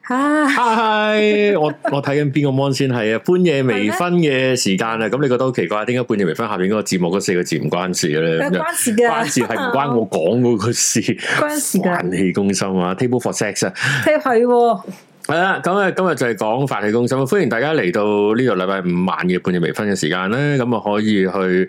嗨，我睇緊邊個 mon 先係啊？半夜微醺嘅時間啊，咁你覺得好奇怪？點解半夜微醺下邊嗰個節目嗰4個字唔關事嘅咧？ 關事嘅， 關事係唔關我講嗰個事， 關事嘅。 飯氣攻心啊 ，Table for Sex 啊， 係。 係啦，咁啊，今日就係講飯氣攻心，歡迎大家嚟到呢度禮拜5晚嘅半夜微醺嘅時間咧，咁啊可以去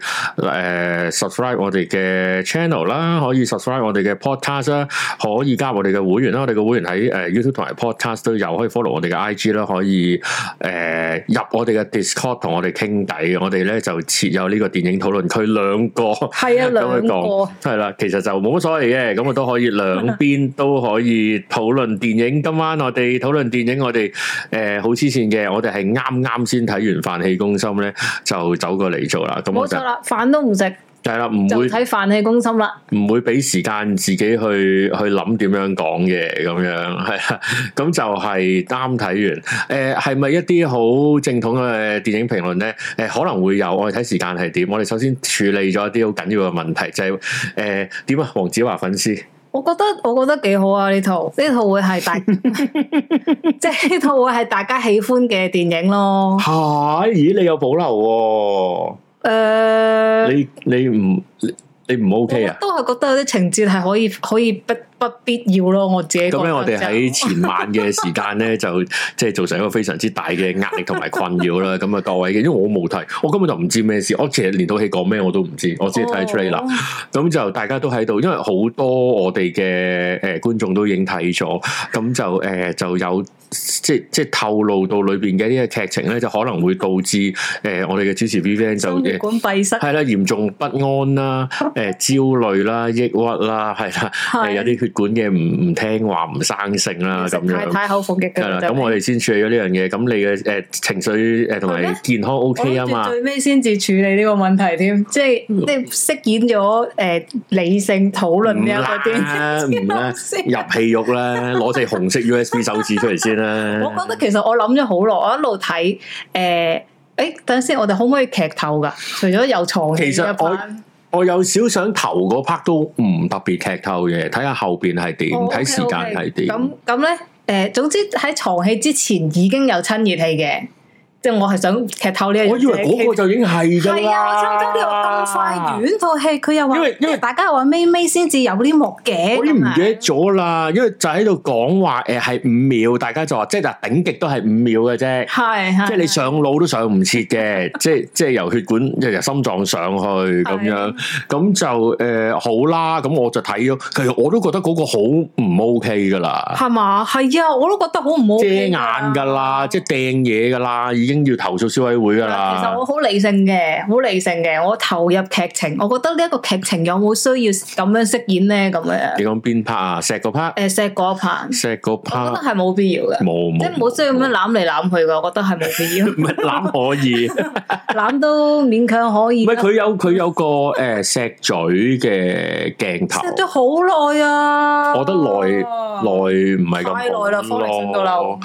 subscribe 我哋嘅 channel 啦，可以 subscribe 我哋嘅 podcast 啦，可以加入我哋嘅會員啦，我哋嘅會員喺YouTube 同埋 podcast 都有，可以 follow 我哋嘅 IG 啦，可以入我哋嘅 Discord 同我哋傾偈，我哋咧就設有呢個電影討論區2個，係啊2個，係啦，其實就冇乜所謂嘅，咁我都可以兩邊都可以討論電影。今晚我哋討論電影，我哋好黐線嘅，我哋係啱先睇完飯氣攻心咧，就走過嚟做啦。咁冇錯啦， 飯都唔食， 係啦，唔會睇飯氣攻心啦，唔會俾時間自己去諗點樣講嘅，咁樣係啦。咁就係啱睇完。係咪一啲好正統嘅電影評論咧？可能會有，我哋睇時間係點。我哋首先處理咗一啲好緊要嘅問題，就係點啊？黃子華粉絲。 我覺得幾好啊！呢套會係即係呢套會係大家喜歡嘅電影咯。 係，咦？你有保留喎？你唔 OK 啊？ 都係覺得有啲情節係可以不必要咯。我自己覺得。咁樣我哋喺前晚嘅時間咧，就即係造成一個非常之大嘅壓力同埋困擾啦。咁啊，各位嘅，因為我冇睇，我根本就唔知咩事。我其實連套戲講咩我都唔知，我只係睇 trailer。咁就大家都喺度，因為好多我哋嘅觀眾都已經睇咗，咁就有即係透露到裏邊嘅呢個劇情咧，就可能會導致我哋嘅主持 Vivian 就血管閉塞， 係啦，嚴重不安啦，焦慮啦，抑鬱啦，係啦，有啲血管嘅唔聽話唔生性啦，咁樣太口服嘅係啦。咁我哋先處理咗呢樣嘢。咁你嘅情緒同埋健康 OK 啊嘛？ 最尾先至處理呢個問題添，即係飾演咗理性討論呢一個啲， 唔啦，入戲肉啦，攞隻紅色 USB 手指出嚟先啦。 我覺得其實我諗咗好耐，我一路睇等陣先，我哋可唔可以劇透噶？除咗有床戲，其實我有少想頭嗰 part 都唔特別劇透嘅，睇下後邊係點，睇時間係點。 咁咧，總之喺床戲之前已經有親熱戲嘅。即係我係想劇透呢樣嘢， 我以為嗰個就已經係㗎啦。係啊，差唔多呢個咁快完套戲，佢又話，因為大家又話尾先至有呢幕嘅， 我已經唔記得咗啦。因為就喺度講話係5秒，大家就話即係頂極都係5秒嘅啫。係，即係你上腦都上唔切嘅，即係由血管由心臟上去咁樣，咁就好啦。咁我就睇咗，其實我都覺得嗰個好唔 OK 㗎啦。 係嘛？係啊，我都覺得好唔 OK。遮眼㗎啦，即係掟嘢㗎啦，已經要投訴消委會噶啦。 其實我好理性嘅，我投入劇情，我覺得呢一個劇情有冇需要咁樣飾演咧？咁樣。你講邊 part 啊？石嗰 part？ 石嗰 part。 石嗰 part。 我覺得係冇必要嘅。冇。即係冇需要咁樣攬嚟攬去嘅，我覺得係冇必要。 唔係攬可以，攬都勉強可以。 唔係佢有個錫嘴嘅鏡頭。錫咗好耐啊！ 我覺得耐唔係咁太耐啦，方力申到漏。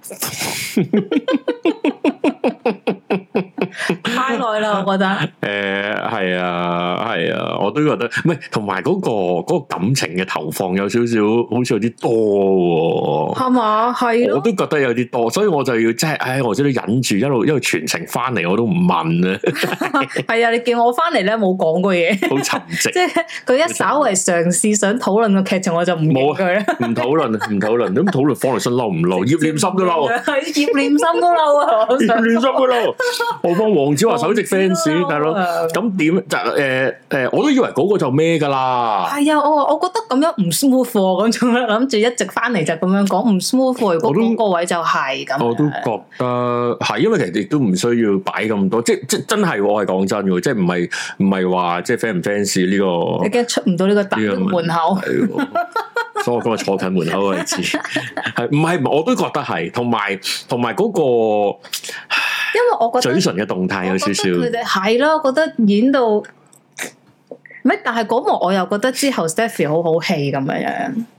太耐啦，我覺得。 係啊，我都覺得，唔係同埋嗰個感情嘅投放有少少，好似有啲多。係嘛？係。我都覺得有啲多，所以我就要即係，我真係忍住一路全程翻嚟，我都唔問啊。 係啊，你見我翻嚟咧冇講過嘢， 好沉寂。 即係佢一稍為嘗試想討論個劇情，我就唔冇佢啦。唔討論， 咁討論方力申嬲唔嬲？葉念琛都嬲。 葉念琛都嬲啊！ 葉念琛都嬲。我幫黃子華首席 fans 大佬，咁點就我都以為嗰個就咩噶啦。係啊，我覺得咁樣唔 smooth 咁，仲諗住一直翻嚟就咁樣講唔 smooth。如果嗰個位就係咁， 我都覺得係，因為其實亦都唔需要擺咁多，即真係我係講真嘅，即係唔係話即係 fan 唔 fans 呢個， 你驚出唔到呢個大門口。 所以我今日坐近門口嘅位置，係唔係？我都覺得係，同埋嗰個。 因為我覺得嘴唇嘅動態有少少， 佢哋係咯，覺得演到咩？但係嗰幕我又覺得之後 Stephy 好好戲咁樣，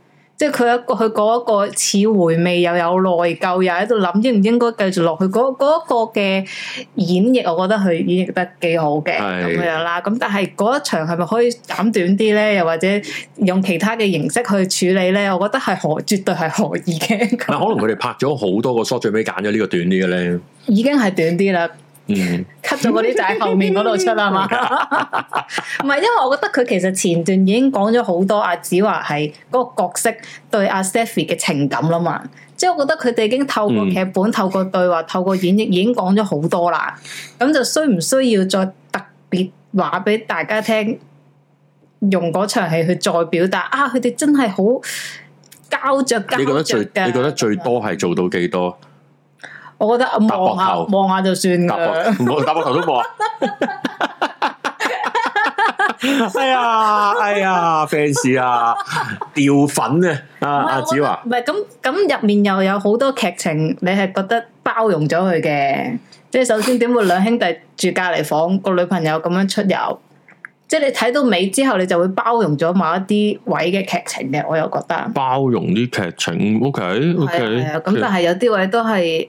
即係佢嗰一個似回味又有內疚，又喺度諗應唔應該繼續落去嗰一個嘅演繹，我覺得佢演繹得幾好嘅咁樣啦。咁但係嗰一場係咪可以減短啲咧？又或者用其他嘅形式去處理咧？我覺得係絕對係可以嘅。 可能佢哋拍咗好多個 shot，最尾揀咗呢個短啲嘅咧，已經係短啲啦。cut 咗嗰啲就喺後面嗰度出啦嘛，唔係，因為我覺得佢其實前段已經講咗好多阿子華係嗰個角色對阿 Stephy 嘅情感啦嘛，即係我覺得佢哋已經透過劇本、透過對話、透過演繹已經講咗好多啦，咁就需唔需要再特別話俾大家聽，用嗰場戲去再表達啊？佢哋真係好膠着嘅。你覺得最多係做到幾多？ 我覺得望下就算噶， 打膊頭都冇啊！哎呀 fans 啊，掉粉啊！阿子華， 唔係咁入面又有好多劇情，你係覺得包容咗佢嘅？即係首先點會兩兄弟住隔籬房，個女朋友咁樣出遊？即係你睇到尾之後，你就會包容咗某一啲位嘅劇情嘅，我又覺得包容啲劇情，OK， 係啊，咁但係有啲位都係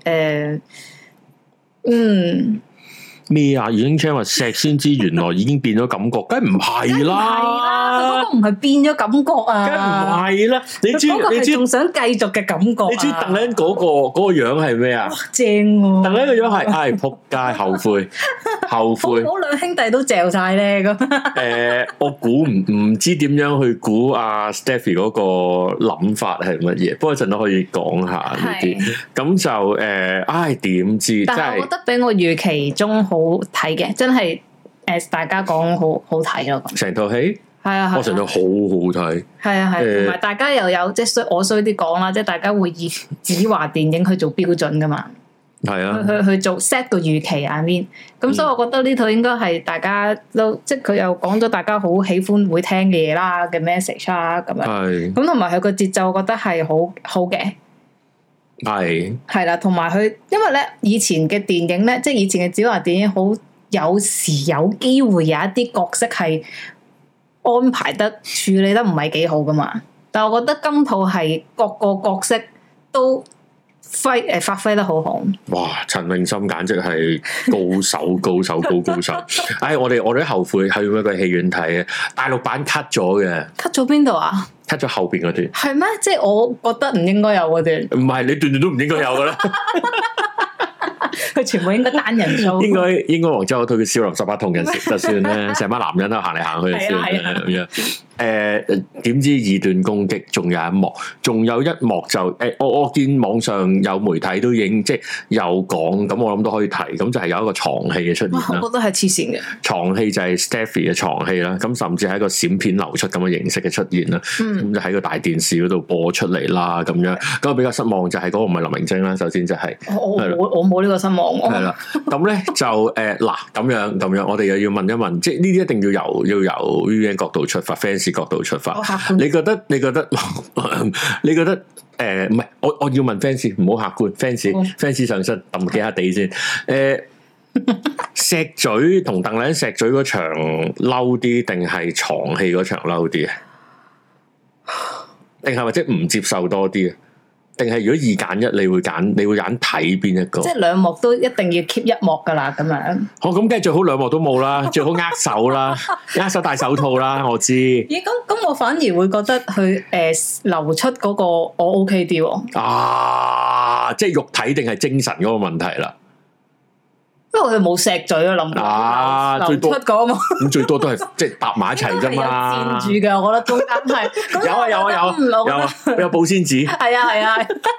咩啊？已經 check 話錫先知，原來已經變咗感覺，梗係唔係啦？ 佢嗰個唔係變咗感覺啊， 梗係唔係啦？你知仲想繼續嘅感覺？ 你知鄧麗欣嗰個樣係咩啊？ 正喎！ 鄧麗欣個樣係仆街，後悔。 好兩兄弟都嚼晒咧咁。 我估唔知點樣去估阿 Stephy 嗰個諗法係乜嘢？不過陣都可以講下呢啲。咁就點知？ 但係我覺得比我預期中好睇嘅，真係大家講好睇咯。 成套戲係啊， 我成套好好睇。 係啊，同埋大家又有即係我衰啲講啦，即係大家會以子華電影去做標準噶嘛。 係啊， 去做 set 個預期啊面，咁所以我覺得呢套應該係大家都即係佢又講咗大家好喜歡會聽嘅嘢啦嘅 message 啦咁樣。係咁同埋佢個節奏，我覺得係好嘅。係啦，同埋佢因為咧以前嘅電影咧，即係以前嘅子華電影，好有時有機會有一啲角色係安排得處理得唔係幾好噶嘛。但係我覺得今套係各個角色都發揮得好好。哇！ 陳詠燊簡直係高手，高手。我哋都後悔去嗰個戲院睇嘅，大陸版 cut 咗嘅。 cut 咗邊度啊 ？cut 咗後邊嗰段。係咩？即係我覺得唔應該有嗰段。 唔係，你段都唔應該有噶啦。 佢全部應該單人 show。 應該黃州嗰套叫少林十八銅人就算咧，成班男人都行嚟行去就算啦咁樣。點知二段攻擊，仲有一幕就我見網上有媒體都已經即係有講，咁我諗都可以提，咁就係有一個床戲嘅出現啦。 我覺得係黐線嘅床戲就係 Stephy 嘅床戲啦，咁甚至係一個閃片流出咁嘅形式嘅出現啦，咁就喺個大電視嗰度播出嚟啦，咁樣咁我比較失望就係嗰個唔係林明禎啦，首先就係我冇呢個失望。 係啦，咁咧就嗱咁樣，我哋又要問一問，即係呢啲一定要由 VVN 角度出發 ，fans 角度出發。你覺得唔係？我要問 fans，唔好客觀。fans 上身揼幾下地先。石嘴同鄧麗欣石嘴嗰場嬲啲，定係床戲嗰場嬲啲啊？定係或者唔接受多啲啊？定係如果二揀一，你會揀睇邊一個？即係兩幕都一定要 keep 一幕噶啦，咁樣。好， 咁梗係最好兩幕都冇啦，最好握手啦，握手戴手套啦，我知。 咦？咁我反而會覺得佢流出嗰個我 OK 啲喎。 啊，即係肉體定係精神嗰個問題啦。 因為佢冇石嘴啊，諗流出嗰嘛，咁最多都係即係搭埋一齊啫嘛。 墊住嘅，我覺得中間係有保鮮紙， 係啊。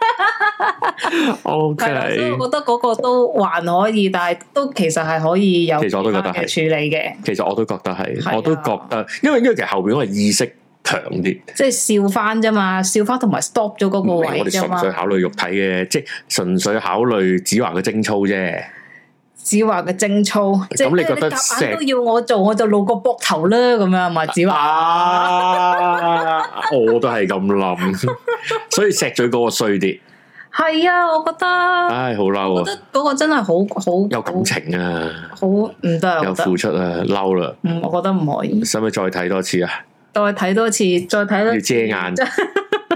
OK， 所以我覺得嗰個都還可以，但係都其實係可以有。 其實我都覺得係處理嘅。 其實我都覺得係，我都覺得，因為其實後邊我係意識強啲， 即係笑翻啫嘛，笑翻同埋 stop 咗嗰個位啫嘛。 我哋純粹考慮肉體嘅，即係純粹考慮子華嘅貞操啫。 子華嘅貞操，咁你覺得夾硬都要我做，我就露個膊頭啦，咁樣嘛？子華， 我都係咁諗，所以石嘴嗰個衰啲。 係啊，我覺得， 唉，好嬲啊！ 我覺得嗰個真係好有感情啊， 好唔得， 有付出啊，嬲啦。 我覺得唔可以。 使唔使再睇多次啊？ 再睇多次，再睇多次。 要遮眼。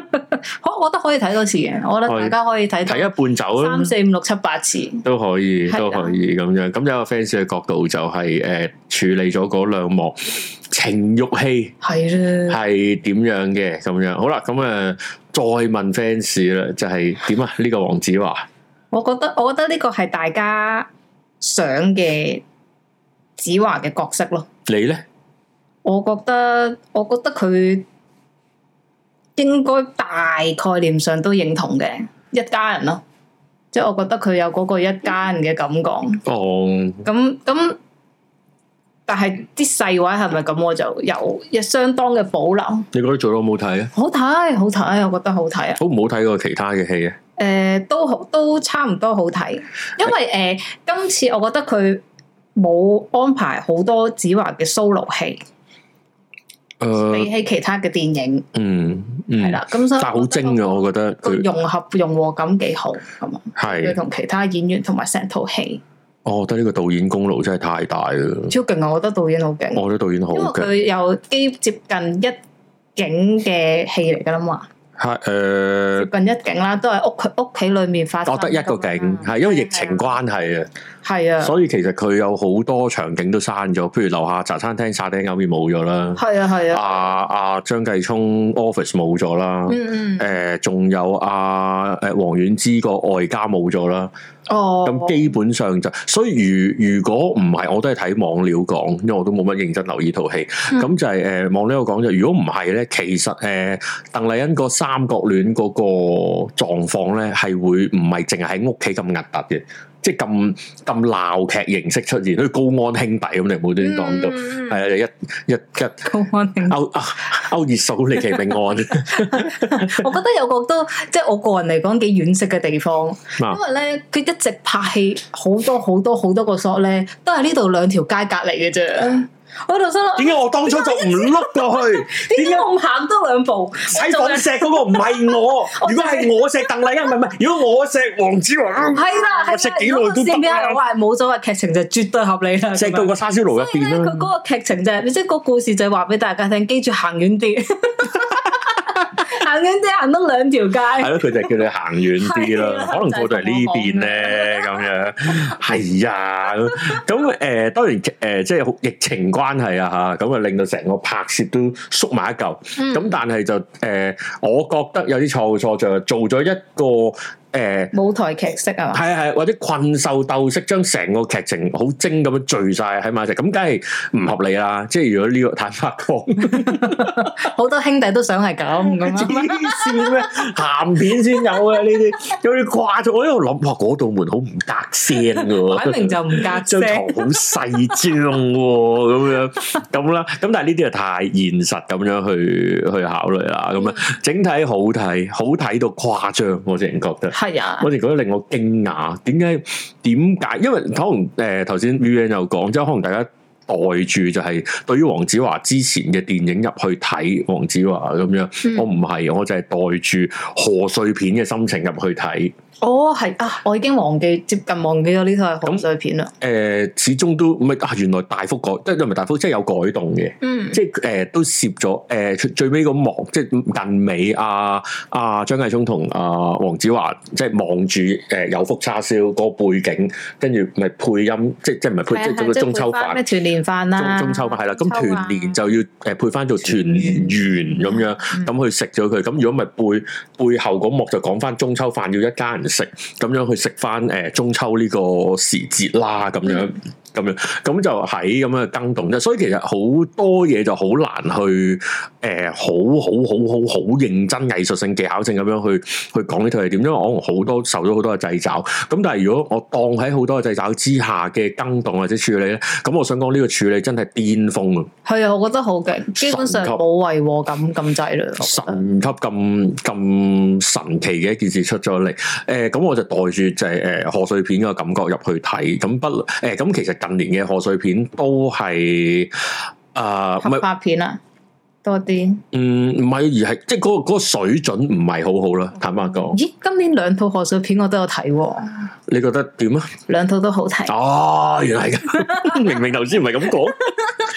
我覺得可以睇多次嘅，我覺得大家可以睇一半走 3、4、5、6、7、8次都可以咁樣。咁有個 fans 嘅角度就係處理咗嗰兩幕情慾戲係點樣嘅咁樣。好啦，咁再問 fans 啦，就係點啊？呢個黃子華， 我覺得呢個係大家想嘅子華嘅角色咯。 你咧？ 我覺得佢應該大概念上都認同嘅一家人咯，即係我覺得佢有嗰個一家人嘅感覺。哦，咁，但係啲細位係咪咁？我就有相當嘅保留。你覺得做得好唔好睇啊？好睇，我覺得好睇啊！好唔好睇過其他嘅戲啊？都差唔多好睇，因為今次我覺得佢冇安排好多子華嘅 solo 戲。比起其他嘅電影，係啦，咁所以但係好精嘅，我覺得佢融合感幾好，咁啊，係佢同其他演員同埋成套戲，我覺得呢個導演功勞真係太大啦，超勁啊！我覺得導演好勁，我覺得導演好勁，佢有接近一景嘅戲嚟噶啦嘛。係接近一景啦，都係屋企裏面發生。我得一個景，係因為疫情關係啊，係啊，所以其實佢有好多場景都刪咗，譬如樓下茶餐廳沙爹牛麵冇咗啦，係啊係啊，阿張繼聰 office 冇咗啦，仲有黃婉之個外家冇咗啦。哦，咁基本上就，所以如果唔係，我都係睇網料講，因為我都冇乜認真留意套戲。咁就係網料講就，如果唔係咧，其實鄧麗欣個三角戀嗰個狀況咧，係會唔係淨係喺屋企咁核突嘅，即係咁鬧劇形式出現，好似高安兄弟咁，你冇端講到，係啊，一高安兄弟歐熱嫂離奇命案。我覺得有個都即係我個人嚟講幾惋惜嘅地方，因為咧佢一直拍戲好多個 shot 咧，都係呢度兩條街隔離嘅啫。我喺度心諗，點解我當初就唔碌過去？點解我唔行多兩步？喺房錫嗰個唔係我，如果係我錫鄧麗欣，唔係，如果我錫黃子華，係啦，我錫幾耐都得啦。我係冇所謂，劇情就絕對合理啦。錫到個叉燒爐入邊啦。佢嗰個劇情就係，即係個故事就係話俾大家聽，記住行遠啲。行遠啲，行多兩條街。係咯，佢就叫你行遠啲啦。可能過到嚟呢邊咧，咁樣係啊。咁當然即係疫情關係啊嚇，咁啊令到成個拍攝都縮埋一嚿。咁但係就我覺得有啲錯就做咗一個。舞台劇式啊，係或者困獸鬥式，將成個劇情好精咁樣聚晒喺埋一齊，咁梗係唔合理啦。即係如果呢個坦白講，好多兄弟都想係咁黐線咩？鹹片先有嘅呢啲，有啲掛咗。我喺度諗，哇，嗰道門好唔隔聲噶，擺明就唔隔聲，張床好細張咁啦。咁但係呢啲係太現實咁樣去考慮啦。咁啊，整體好睇到誇張，我淨係覺得。係啊，我哋覺得令我驚訝，點解？因為可能頭先 VVN 有講，即係可能大家袋住就係對於黃子華之前嘅電影入去睇黃子華咁樣，我唔係，我就係袋住賀歲片嘅心情入去睇。哦，係啊，我已經接近忘記咗呢套係賀歲片啦。始終都唔係原來大幅改，即係唔係大幅，即係有改動嘅。即係都攝咗最尾嗰幕，即係近尾張繼聰同黃子華即係望住有福叉燒嗰個背景，跟住咪配音，即係唔係配即係中秋飯咩團年飯啦，中秋飯係啦，咁團年就要配翻做團圓咁樣，咁去食咗佢。咁如果咪背後嗰幕就講翻中秋飯要一家人食，咁樣去食翻中秋呢個時節啦，咁樣咁就喺咁樣更動啫。所以其實好多嘢就好難去好認真藝術性技巧性咁樣去講呢套係點，因為我好多受咗好多嘅掣肘。咁但係如果我當喺好多嘅掣肘之下嘅更動或者處理咧，咁我想講呢個處理真係巔峰啊！係啊，我覺得好勁，基本上冇違和感咁滯啦。神級咁神奇嘅一件事出咗嚟，咁我就袋住就係賀歲片嘅感覺入去睇，咁其實近年嘅賀歲片都係合拍片啊多啲，唔係而係即係嗰個水準唔係好好啦，坦白講。咦，今年兩套賀歲片我都有睇喎，你覺得點啊？兩套都好睇。哦，原來係咁，明明頭先唔係咁講。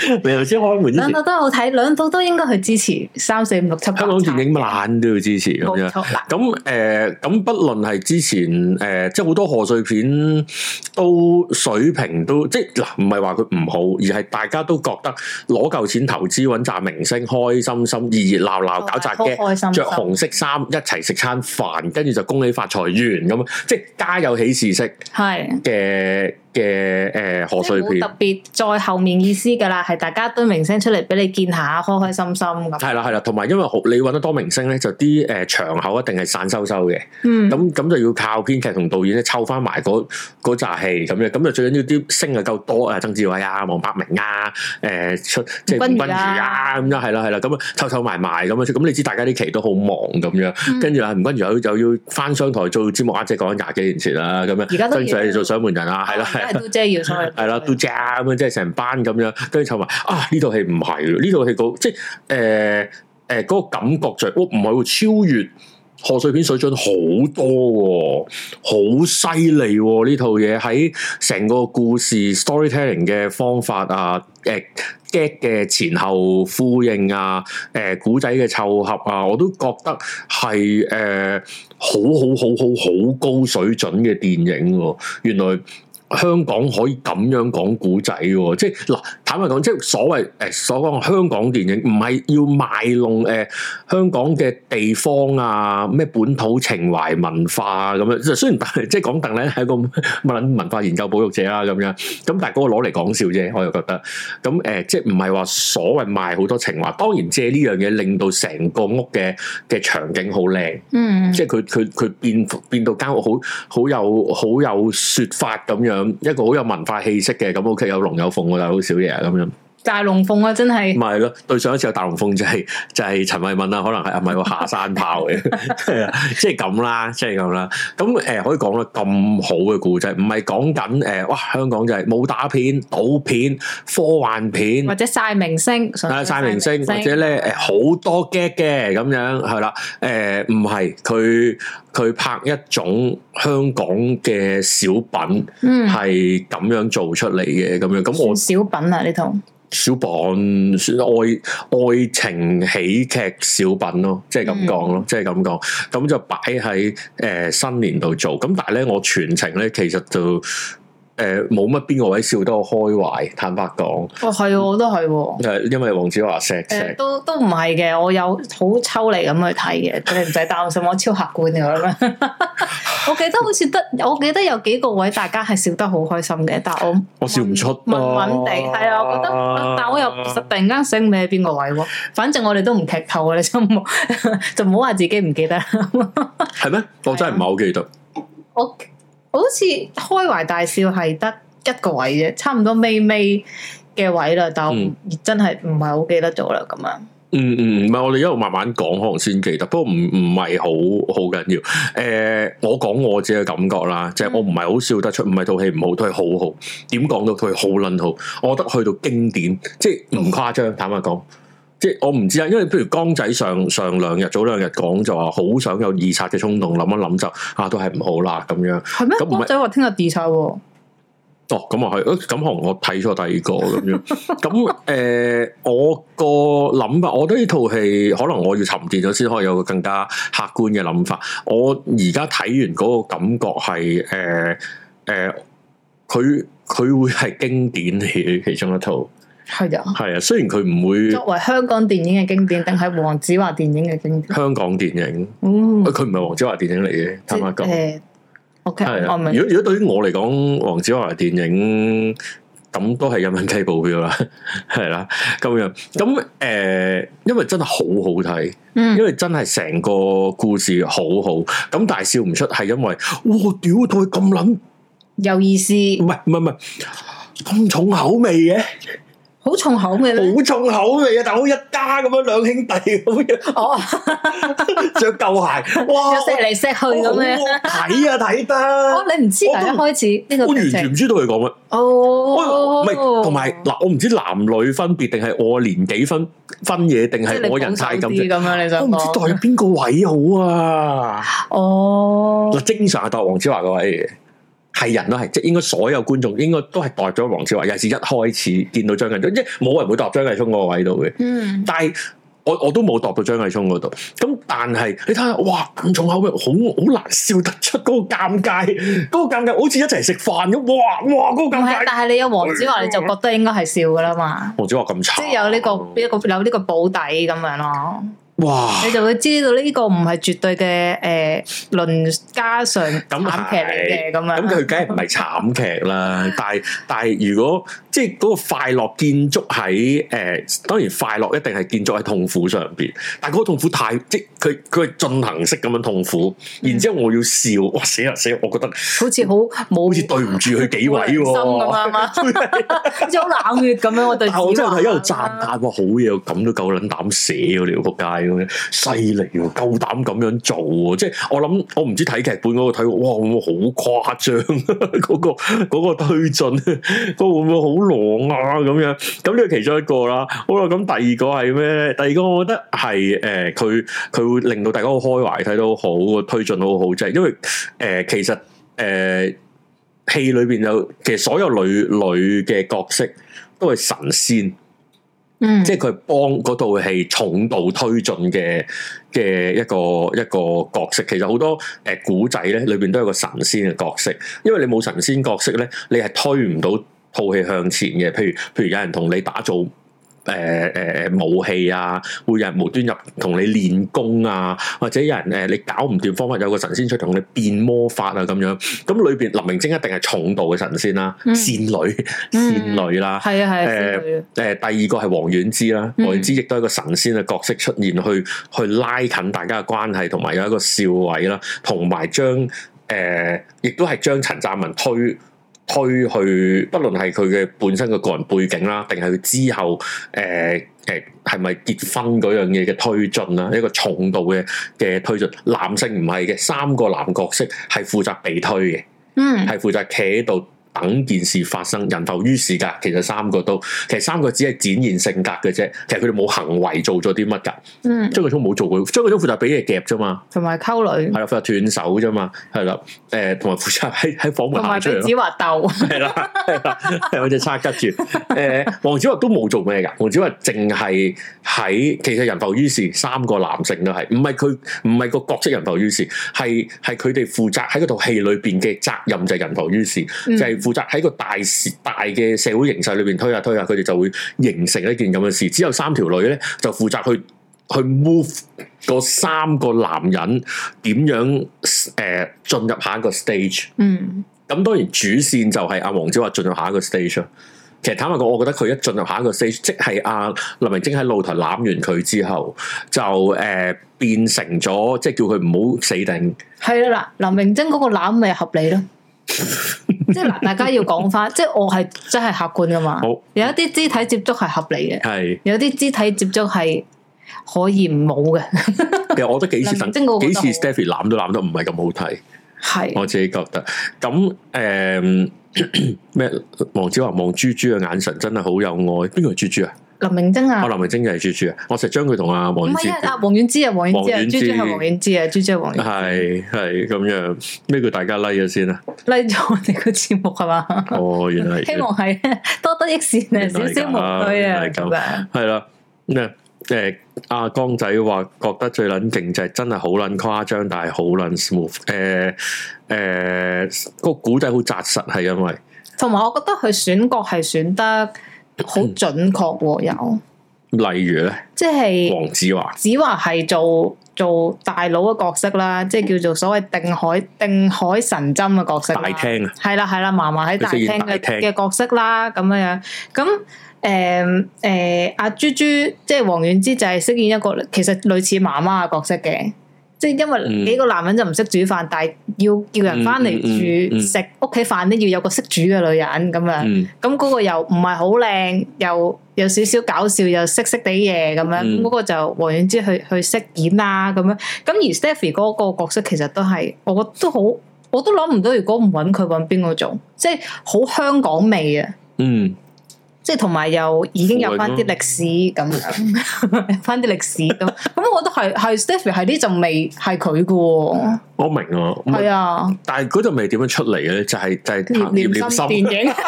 你頭先開門之前， 兩套都好睇，兩套都應該去支持3、4、5、6、7、8。香港電影爛都要支持咁樣。咁不論係之前即係好多賀歲片都水平都即係嗱，唔係話佢唔好，而係大家都覺得攞嚿錢投資揾紮明星，開心心、熱熱鬧鬧搞扎嘅，着紅色衫一齊食餐飯，跟住就恭喜發財完咁，即係家有喜事式嘅賀歲片，特別在後面意思噶啦，係大家堆明星出嚟俾你見下，開開心心咁。係啦，同埋因為你揾得多明星咧，就啲場口一定係散收嘅。咁就要靠編劇同導演咧湊翻埋嗰紮戲咁樣，咁就最緊要啲星啊夠多啊，曾志偉啊、黃百鳴啊、即係吳君如啊咁樣，係啦，咁啊湊埋咁樣，咁你知大家啲期都好忙咁樣，跟住啊吳君如又要翻商台做節目啊，即係講緊20幾年前啦，咁樣跟住係做獎門人啊，係啦。都姐要出去，係啦，都姐咁樣，即係成班咁樣，跟住湊埋啊！呢套戲唔係，呢套戲即係嗰個感覺就係，唔係超越賀歲片水準好多，好犀利呢套嘢喺成個故事 storytelling 嘅方法啊，get 嘅前後呼應啊，古仔嘅湊合啊，我都覺得係好高水準嘅電影，原來。香港可以咁樣講古仔喎，即係嗱，坦白講，即係所謂所講香港電影，唔係要賣弄香港嘅地方啊，咩本土情懷文化咁樣。雖然即係講鄧咧係一個文化研究保育者啦咁樣，咁但係嗰個攞嚟講笑啫，我又覺得。咁即係唔係話所謂賣好多情懷，當然借呢樣嘢令到成個屋嘅場景好靚，即係佢變到間屋好有說法咁樣。一個好有文化氣息嘅，咁 OK， 有龍有鳳，但係好少嘢咁樣。大龍鳳啊，真係。唔係咯，對上一次有大龍鳳就係陳慧敏啦，可能係咪個下山炮嘅，即係咁啦，即係咁啦。咁可以講得咁好嘅故仔，唔係講緊哇香港就係武打片、賭片、科幻片，或者晒明星，晒明星，或者咧好多 gag 嘅咁樣係啦。唔係佢拍一種香港嘅小品，係咁樣做出嚟嘅咁樣。咁我小品啊呢套。小品算愛情喜劇小品咯，即係咁講咯，即係咁講，咁就擺喺新年度做。咁但係咧，我全程咧其實就冇乜邊個位笑得我開懷，坦白講。係我都係，因為黃子華錫都唔係嘅，我有好抽離咁去睇嘅，你唔使擔心，我超客觀嘅咁樣。我記得好似我記得有幾個位大家係笑得好開心嘅，但係我笑唔出，穩地係啊，我覺得，但我又突然間醒唔起邊個位喎。反正我哋都唔劇透啊，你就唔好話自己唔記得。係咩？我真係唔係好記得。我好似開懷大笑係得一個位啫，差唔多尾嘅位啦，但我真係唔係好記得咗啦咁樣。唔係我哋一路慢慢講，可能先記得，不過唔係好緊要。我講我自己嘅感覺啦，即係我唔係好笑得出，唔係套戲唔好，都係好好。點講到佢好撚好？我覺得去到經典，即係唔誇張。坦白講。即係我唔知啊，因為譬如江仔早兩日講就話好想有二刷嘅衝動，諗一諗就都係唔好啦咁樣。係咩？江仔話聽日二刷喎。哦，咁啊係，咁可能我睇錯第二個咁樣。咁我個諗法，我覺得呢套戲可能我要沉澱咗先可以有個更加客觀嘅諗法。我而家睇完嗰個感覺係佢會係經典嘅其中一套。係啊，雖然佢唔會作為香港電影嘅經典，定係黃子華電影嘅經典？香港電影，佢唔係黃子華電影嚟嘅，坦白講。OK，如果對於我嚟講，黃子華電影咁都係人民雞保票啦，係啦，咁樣咁因為真係好好睇，因為真係成個故事好好，咁但係笑唔出，係因為哇屌，佢咁撚有意思，唔係咁重口味嘅。好重口味咧，好重口味啊！但好一家咁樣，兩兄弟咁樣，哦，着舊鞋，哇，錫嚟錫去咁樣，睇得，哦，你唔知㗎，一開始呢個我完全唔知道佢講乜，哦，唔係，同埋嗱，我唔知男女分別，定係我年紀分嘢，定係我人太咁樣，你想我唔知代邊個位好啊？哦，嗱，正常係代黃子華個位嘅。 係人都係，即係應該所有觀眾應該都係代咗黃子華，尤其是一開始見到張繼聰，即係冇人會代張繼聰嗰個位度嘅。但係我都冇度到張繼聰嗰度。咁但係你睇下，哇咁重口味，好難笑得出嗰個尷尬，嗰個尷尬好似一齊食飯咁。哇嗰個尷尬。但係你有黃子華，你就覺得應該係笑噶啦嘛。黃子華咁慘，即係有呢個保底咁樣咯。哇！你就會知道呢個唔係絕對嘅倫家常慘劇嚟嘅咁樣。咁佢梗係唔係慘劇啦？但係如果即係嗰個快樂建築喺當然快樂一定係建築喺痛苦上邊。但係嗰個痛苦太即係佢係進行式咁樣痛苦，然之後我要笑，哇死啦！我覺得好似好似對唔住佢幾位喎，心咁樣嘛，好似好冷血咁樣。我對，但我真係喺度讚嘆，哇好嘢，咁都夠撚膽寫喎，你仆街！犀利喎，夠膽咁樣做喎！即係我唔知睇劇本嗰個睇，哇會唔會好誇張？嗰個推進，嗰個會唔會好狼啊？咁樣咁呢個其中一個啦。好啦，咁第二個係咩咧？第二個我覺得係佢會令到大家好開懷，睇到好個推進好好，即係因為其實戲裏邊其實所有女嘅角色都係神仙。即係佢幫嗰套戲重度推進嘅一個角色，其實好多古仔咧裏邊都有個神仙嘅角色，因為你冇神仙角色咧，你係推唔到套戲向前嘅。譬如有人同你打造武器啊，會有人無端入同你練功啊，或者有人你搞唔掂方法，有個神仙出同你變魔法啊咁樣。咁裏邊林明禎一定係重度嘅神仙啦，仙女啦，係啊係第二個係王菀之啦，王菀之亦都係一個神仙嘅角色出現，去拉近大家嘅關係，同埋有一個笑位啦，同埋亦都係將陳湛文推去，不論係佢嘅本身嘅個人背景啦，定係佢之後係咪結婚嗰樣嘢嘅推進啦，一個重度嘅推進。男性唔係嘅，3個男角色係負責被推嘅，係負責企喺度等件事發生，人浮於事噶。其實3個只係展現性格嘅啫，其實佢哋冇行為做咗啲乜噶。張繼聰冇做過，張繼聰負責俾嘢夾啫嘛，同埋溝女係啦，負責斷手啫嘛，係啦，同埋負責喺房門行出嚟咯。同埋俾子華鬥係啦，係有隻叉吉住。黃子華都冇做咩噶，黃子華淨係其實人浮於事，3個男性都係，唔係個角色人浮於事，係佢哋負責喺嗰套戲裏邊嘅責任就係人浮於事，就係負責喺個大嘅社會形勢裏邊推下，佢哋就會形成一件咁嘅事。只有3條女咧，就負責去 move 嗰3個男人點樣進入下一個 stage。咁當然主線就係阿黃子華進入下一個 stage。其實坦白講，我覺得佢一進入下一個 stage，即係阿林明禎喺露台攬完佢之後，就變成咗即係叫佢唔好死定。係啦，嗱，林明禎嗰個攬咪合理咯。即係嗱，大家要講翻，即係我係真係客觀噶嘛。好，有一啲肢體接觸係合理嘅，係有啲肢體接觸係可以唔冇嘅。其實我覺得幾次 Stephy 攬都攬得唔係咁好睇，係我自己覺得。咁咩？黃子華望豬豬嘅眼神真係好有愛。邊個係豬豬啊？林明禎啊！林明禎就係豬豬啊！我成日將佢同阿王菀之，王菀之啊，王菀之啊，豬豬係王菀之啊，豬豬係王菀之。係咁樣，咩叫大家 like 咗先啊？like 咗我哋個節目係嘛？哦，原來希望係多得益善啊，少少無趣啊，咁樣係啦。咩？阿江仔話覺得最撚勁就係真係好撚誇張，但係好撚 smooth。個古仔好紮實，係因為同埋我覺得佢選角係選得好準確喎。有例如咧，即係黃子華係做大佬嘅角色啦，即係叫做所謂定海神針嘅角色。大廳啊，係啦，嫲嫲喺大廳嘅角色啦，咁樣咁。阿豬豬即係王菀之就係飾演一個其實類似媽媽嘅角色嘅，即係因為幾個男人就唔識煮飯，但係要叫人翻嚟煮食屋企飯都要有個識煮嘅女人咁樣，咁嗰個又唔係好靚，又有少少搞笑，又識啲嘢咁樣，嗰個就王菀之去飾演啦咁樣，咁而 Stephy 嗰個角色其實都係，我覺得都好，我都諗唔到如果唔揾佢揾邊個做，即係好香港味啊。 即係同埋又已經有翻啲歷史咁樣，有翻啲歷史咁，咁我覺得係 Stephy 係呢陣味係佢嘅。 我明啊，係啊，但係嗰陣味點樣出嚟嘅咧？就係談念念心電影。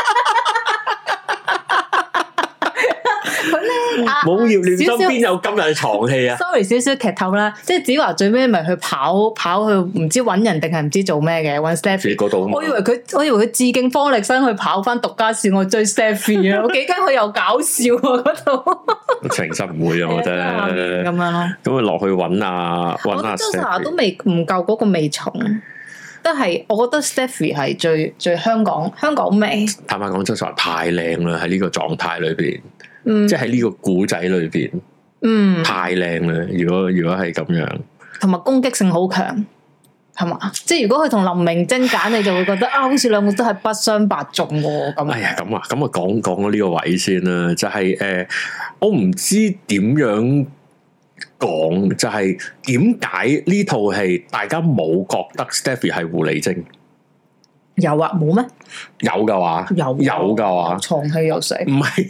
冇葉念心邊有今日嘅床戲啊 ？Sorry， 少少劇透啦，即係子華最尾咪去跑去唔知搵人定係唔知做咩嘅搵 Stephy 嗰度。我以為佢致敬方力申去跑翻獨家線，我追 Stephy 啊！我幾驚佢又搞笑啊嗰度。情深唔會啊，我覺得咁樣咯。咁啊落去搵啊 Stephy 都未唔夠嗰個味重。都係，我覺得 Stephy 係最香港味。坦白講，周秀娜太靚啦，喺呢個狀態裏邊，即係喺呢個古仔裏邊，太靚啦。如果係咁樣，同埋攻擊性好強，係嘛？即係如果佢同林明禎揀，你就會覺得好似兩個都係不相伯仲喎。咁，哎呀，咁啊講咗呢個位先啦，就係我唔知點樣。講就係點解呢套戲大家冇覺得 Stephy 係狐狸精？有啊，冇咩？有噶話，有噶話，床戲有死？唔係，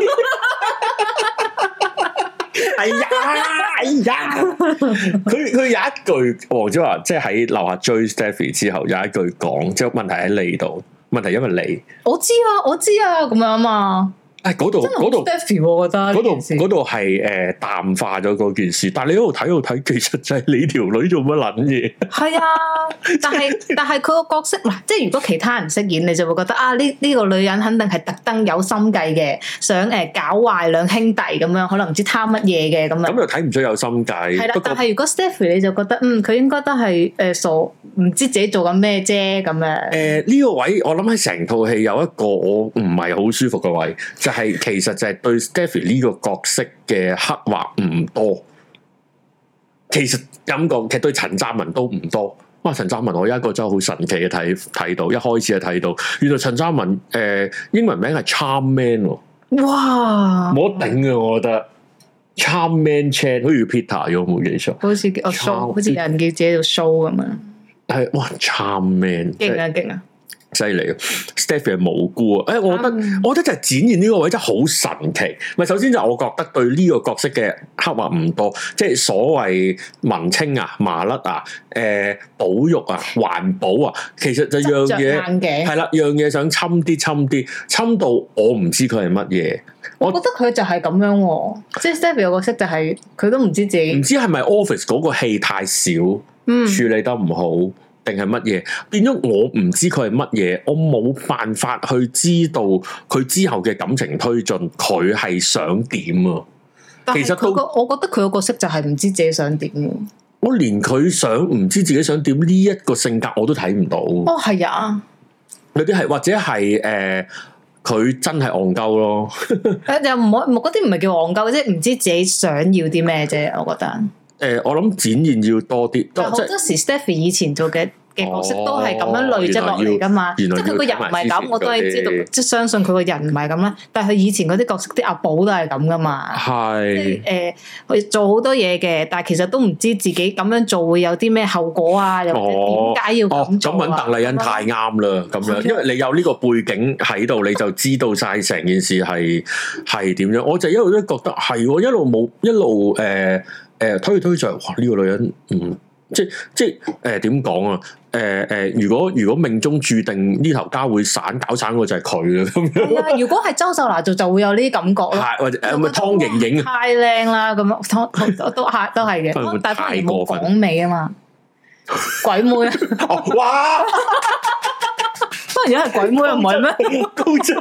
哎呀，佢有一句黃子華即係喺樓下追 Stephy 之後有一句講，即係問題喺你度，問題因為你我知啊，咁樣啊嘛。嗰度，Stephy，我覺得嗰度係淡化咗嗰件事，但係你喺度睇，其實就係你條女做乜撚嘢？係啊，但係佢個角色嗱，即係如果其他人飾演，你就會覺得呢個女人肯定係特登有心計嘅，想搞壞兩兄弟咁樣，可能唔知貪乜嘢嘅咁樣。咁又睇唔出有心計。係啦，但係如果 Stephy 你就覺得佢應該都係傻，唔知自己做緊咩啫咁樣。呢個位我諗喺成套戲有一個我唔係好舒服嘅位。係，其實就係對 Stephy 呢個角色嘅刻畫唔多。其實咁講，其實對陳湛文都唔多。哇，陳湛文我有一個真係好神奇嘅睇到，一開始就睇到，原來陳湛文英文名係 Charm Man。哇，冇得頂啊！我覺得 Charm Man Chan 好似 Peter 咗，冇記錯。好似叫 Show， 好似有人叫自己做 Show 咁樣。係哇 ，Charm Man，勁啊勁啊！犀利 Stephy 係無辜啊！我覺得就係展現呢個位真係好神奇。咪首先就我覺得對呢個角色嘅刻畫唔多，即係所謂文青啊、麻甩啊、保育啊、環保啊，其實就樣嘢係啦，樣嘢想侵侵到我唔知佢係乜嘢。我覺得佢就係咁樣喎，即係 Stephy 個角色就係佢都唔知自己，唔知係咪 Office 嗰個戲太少，處理得唔好。定係乜嘢變咗？我唔知佢係乜嘢，我冇辦法去知道佢之後嘅感情推進，佢係想點啊？其實我覺得佢個角色就係唔知自己想點。我連佢唔知自己想點呢一個性格我都睇唔到。哦，係啊，有啲係或者係佢真係戇鳩咯。又唔好嗰啲唔係叫戇鳩，即係唔知自己想要啲咩啫。我覺得。我諗展現要多啲，好多時 Stephy 以前做嘅角色都係咁樣累積落嚟噶嘛，即係佢個人唔係咁，我都係知道，即係相信佢個人唔係咁啦。但係佢以前嗰啲角色，啲阿寶都係咁噶嘛，係佢做好多嘢嘅，但係其實都唔知自己咁樣做會有啲咩後果啊，又或者點解要咁做啊？咁揾鄧麗欣太啱啦，咁樣，因為你有呢個背景喺度，你就知道晒成件事係點樣。我就一路都覺得係，一路冇一路推就哇呢個女人即係點講啊？如果命中注定呢頭家會搞散個就係佢啦咁樣。係啊，如果係周秀娜做就會有呢啲感覺咯。係或者咪湯盈盈太靚啦咁樣，都係嘅。但係反而冇港味啊嘛，鬼妹哇！當然係鬼妹唔係咩？高質。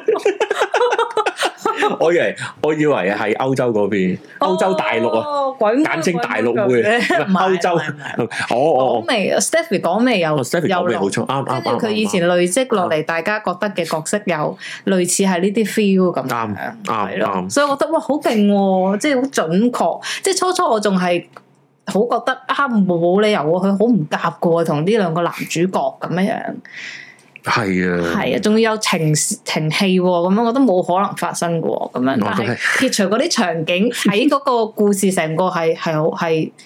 我以為係歐洲嗰邊，歐洲大陸啊，簡稱大陸妹，歐洲。講味 Stephy 講味有講味好重，啱。跟住佢以前累積落嚟，大家覺得嘅角色有類似係呢啲 feel 咁樣，係咯。所以我覺得哇，好勁，即係好準確。即係初我仲係好覺得冇理由佢好唔夾噶，同呢兩個男主角咁樣。係啊，仲要有情戲咁樣，我覺得冇可能發生嘅咁樣。但係撇除嗰啲場景，喺嗰個故事成個係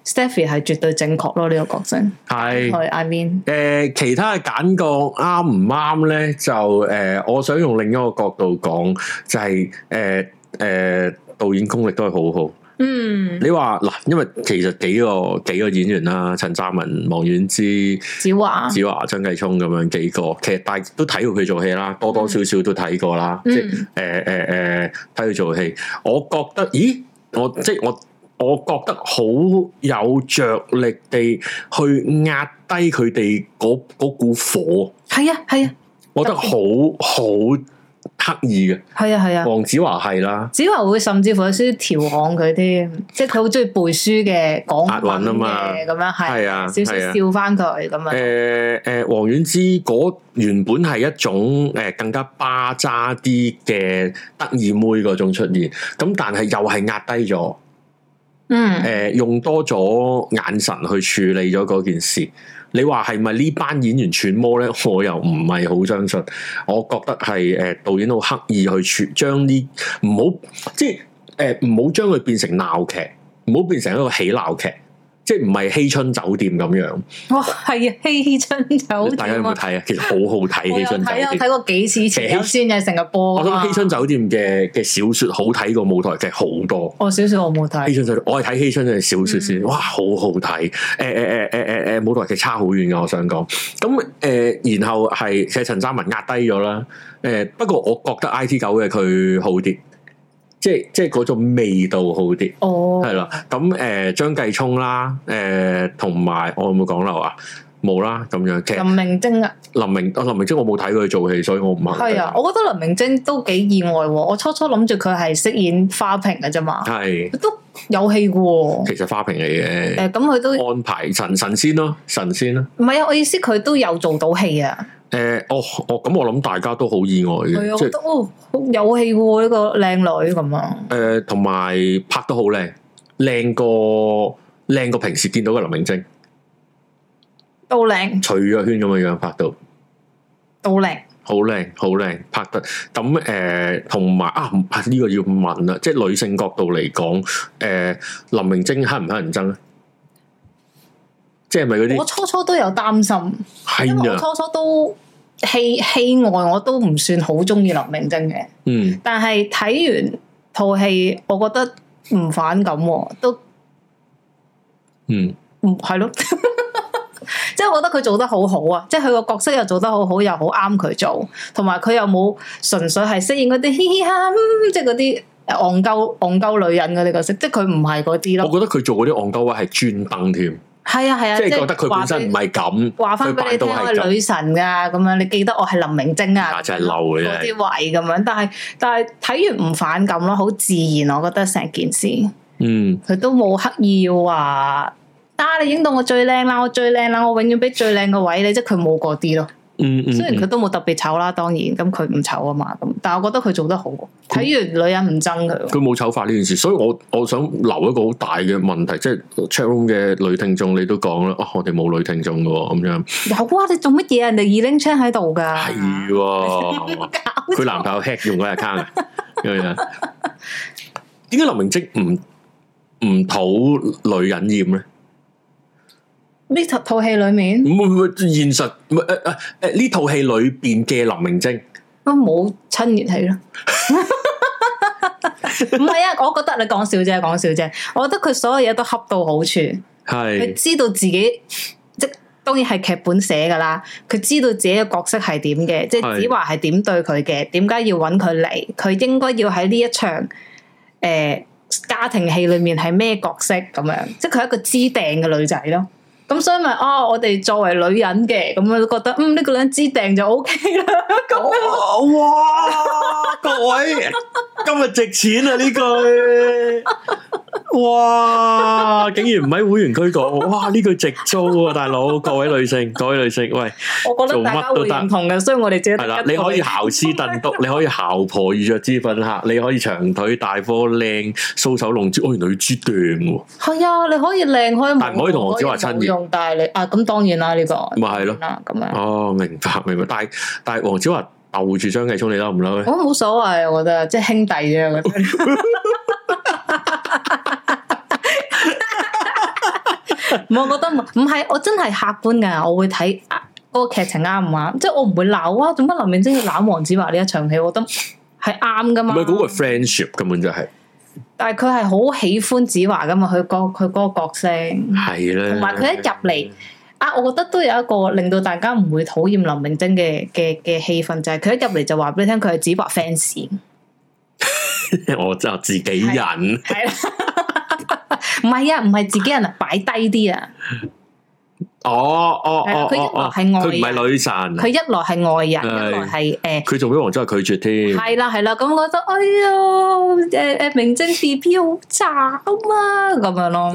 Stephy 係絕對正確咯，呢個角色係 I mean 其他嘅揀角啱唔啱咧？就我想用另一個角度講，就係導演功力都係好好。嗯，你話嗱，因為其實幾個演員啦，陳湛文、王菀之、子華、張繼聰咁樣幾個，其實大家都睇過佢做戲啦，多多少少都睇過啦。即係睇佢做戲，我覺得，我覺得好有着力地去壓低佢哋嗰股火。係啊，我覺得好刻意嘅。係啊，黃子華係啦，子華會甚至乎有少少調侃佢添，即係佢好中意背書嘅，講押韻啊嘛，咁樣係啊，少少笑翻佢咁樣。 王菀之嗰原本係一種更加巴渣啲嘅得意妹嗰種出現，咁但係又係壓低咗。用多咗眼神去處理咗嗰件事，你話係咪呢班演員揣摩咧？我又唔係好相信，我覺得係導演好刻意去將呢唔好即係唔好將佢變成鬧劇，唔好變成一個喜鬧劇。即係唔係希春酒店咁樣？哇，係啊，希春酒店，大家有冇睇啊？其實好好睇，希春酒店。我睇過幾次，前先係成日播。我覺得希春酒店嘅小說好睇過舞台劇好多。哦，小說我冇睇。希春酒店，我係睇希春嘅小說先，哇，好好睇。舞台劇差好遠㗎，我想講。咁然後係其實陳湛文壓低咗啦。不過我覺得 IT9嘅佢好啲。即係嗰種味道好啲，係啦。咁張繼聰啦，同埋我有冇講漏啊？冇啦，咁樣。林明禎啊，林明禎我冇睇佢做戲，所以我唔肯定。係啊，我覺得林明禎都幾意外。我初諗住佢係飾演花瓶嘅啫嘛，係都有戲嘅。其實花瓶嚟嘅，咁佢都安排神仙咯，神仙咯。唔係啊，我意思佢都有做到戲啊。咁我諗大家都好意外嘅，即係好有戲喎呢個靚女咁啊。同埋拍得好靚，靚過平時見到嘅林明禎，都靚。徐若瑄咁嘅樣拍到，都靚，好靚，拍得咁同埋呢個要問啦，即係女性角度嚟講，林明禎乞唔乞人憎咧？即係咪嗰啲？我初都有擔心，因為我初都戲外我都唔算好中意林明禎嘅，但係睇完套戲，我覺得唔反感，都係咯，即係我覺得佢做得好好啊，即係佢個角色又做得好好，又好啱佢做，同埋佢又冇純粹係飾演嗰啲嘻嘻哈，即係嗰啲戇鳩女人嗰啲角色，即係佢唔係嗰啲咯。我覺得佢做嗰啲戇鳩位係專登添。係啊，即係覺得佢本身唔係咁，話翻俾你聽我係女神噶，咁樣你記得我係林明禎啊，就係嬲嘅嗰啲位咁樣，但係睇完唔反感咯，好自然，我覺得成件事，佢都冇刻意要話，你影到我最靚啦，我永遠俾最靚嘅位你，即係佢冇嗰啲咯。雖然佢都冇特別醜啦，當然咁佢唔醜啊嘛，咁但係我覺得佢做得好，睇完女人唔憎佢。佢冇醜化呢件事，所以我想留一個好大嘅問題，即係 chat room 嘅女聽眾，你都講啦，我哋冇女聽眾噶咁樣。有啊，你做乜嘢？人哋二拎槍喺度噶。係，佢男朋友 hack 用嗰 account 咁樣。點解林明禎唔討女人厭咧？呢套戲裏面唔現實呢套戲裏邊嘅林明禎都冇親熱戲咯，唔係啊！我覺得你講笑啫，我覺得佢所有嘢都恰到好處，係佢知道自己即當然係劇本寫噶啦，佢知道自己嘅角色係點嘅，即係子華係點對佢嘅，點解要揾佢嚟，佢應該要喺呢一場家庭戲裏面係咩角色咁樣，即係佢係一個知定嘅女仔咯。咁所以咪我哋作為女人嘅咁樣都覺得呢個女人知定就 OK 啦。哇！各位今日值錢啊呢句，哇！竟然唔喺會員區講，哇！呢句值租啊，大佬！各位女性，喂，我覺得大家會認同嘅，所以我哋自己係啦。你可以姣屍燉篤，你可以姣婆遇着脂粉客，你可以長腿大波靚搔首弄姿，原來要知定喎。係啊，你可以靚可以，但唔可以同黃子華親熱。但係你咁當然啦，呢個咪係咯，咁樣哦，明白。但係黃子華鬥住張繼聰，你嬲唔嬲咧？我冇所謂，我覺得即係兄弟啫，我覺得。 我覺得唔係，我真係客觀㗎，我會睇嗰個劇情啱唔啱，即係我唔會鬧啊！做乜林明禎要攬黃子華呢一場戲？我覺得係啱㗎嘛。唔係嗰個 friendship 根本就係。 但係佢係好喜歡子華㗎嘛？佢嗰個角色係咧， 同埋佢一入嚟。我覺得都有一個令到大家唔會討厭林明禎嘅氣氛，就係佢一入嚟就話俾你聽，佢係子華 fans。 我就自己人， 係啦，唔係啊，唔係自己人啊，擺低啲啊。佢一來係外人，佢唔係女神，佢一來係外人，一來係佢仲俾黃子華拒絕添。 係啦，咁我覺得，哎呀，明禎 BB 好慘啊，咁樣咯。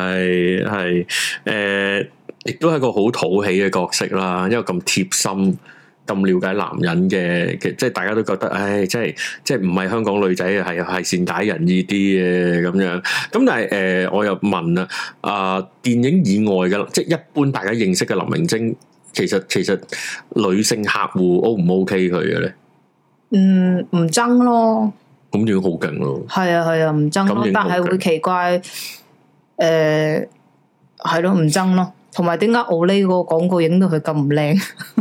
係亦都係個好討喜嘅角色啦，因為咁貼心、咁了解男人嘅，即係大家都覺得，唉，即係唔係香港女仔係善解人意啲嘅咁樣。咁但係我又問啦，電影以外嘅，即係一般大家認識嘅林明禎，其實女性客戶 O 唔 OK 佢嘅咧？ 唔爭咯。 咁已經好勁咯。係啊，唔爭咯，但係會奇怪，係咯，唔爭咯。同埋點解我呢個廣告影到佢咁唔靚？